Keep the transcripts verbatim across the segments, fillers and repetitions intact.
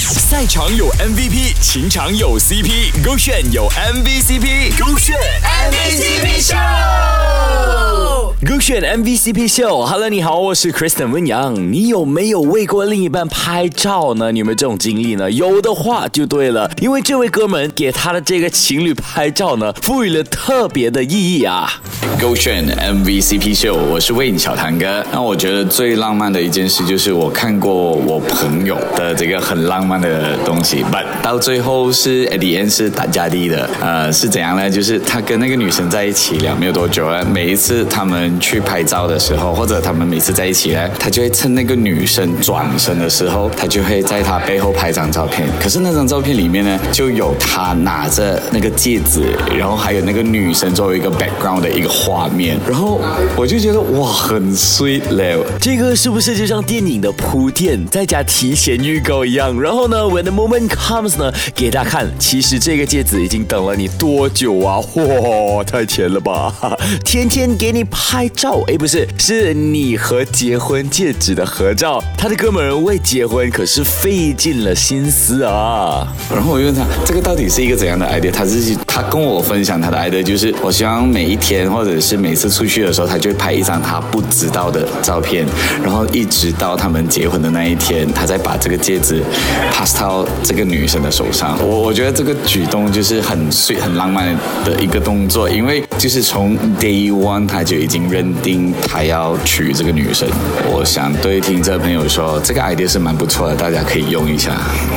赛场有 M V P， 情场有 C P， 勾选有 M V C P， 勾选 M V C P Show， 勾选 M V C P Show。Hello， 你好，我是 Kristen 温阳。你有没有为过另一半拍照呢？你有没有这种经历呢？有的话就对了，因为这位哥们给他的这个情侣拍照呢，赋予了特别的意义啊。 勾选 M V C P Show， 我是魏小堂哥。那我觉得最浪漫的一件事就是我看过我朋友的这个很浪漫的东西 ，but 到最后是 at the end 是打架地的。呃，是怎样呢？就是他跟那个女生在一起了没有多久了，每一次他们去拍照的时候，或者他们每次在一起呢，他就会趁那个女生转身的时候，他就会在他背后拍张照片。可是那张照片里面呢，就有他拿着那个戒指，然后还有那个女生作为一个 background 的一个画面，然后我就觉得哇，很 sweet 嘞。 这个是不是就像电影的铺垫，再加提前预告一样？然后呢 ，when the moment comes 呢，给大家看，其实这个戒指已经等了你多久啊？哇，太甜了吧！天天给你拍照，哎，不是，是你和结婚戒指的合照。他的哥们儿为结婚可是费尽了心思啊。 然后我就问他，这个到底是一个怎样的 idea？ 他自己他跟我分享他的 idea， 就是我希望每一天或者是每次出去的时候，他就会拍一张他不知道的照片，然后一直到他们结婚的那一天，他再把这个戒指 pass 到这个女生的手上。我我觉得这个举动就是很sweet很浪漫的一个动作，因为就是从 day one 他就已经认定他要娶这个女生。我想对听者朋友说，这个 idea 是蛮不错的，大家可以用一下。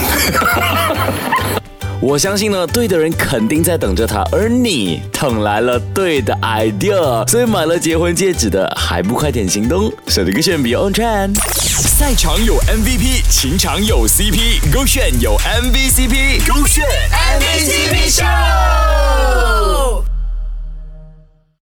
我相信呢，对的人肯定在等着他，而你等来了对的 idea， 所以买了结婚戒指的还不快点行动？手里勾选 Beyond Trend。赛场有 M V P， 情场有 C P， 勾选有 M V C P， 勾选 M V C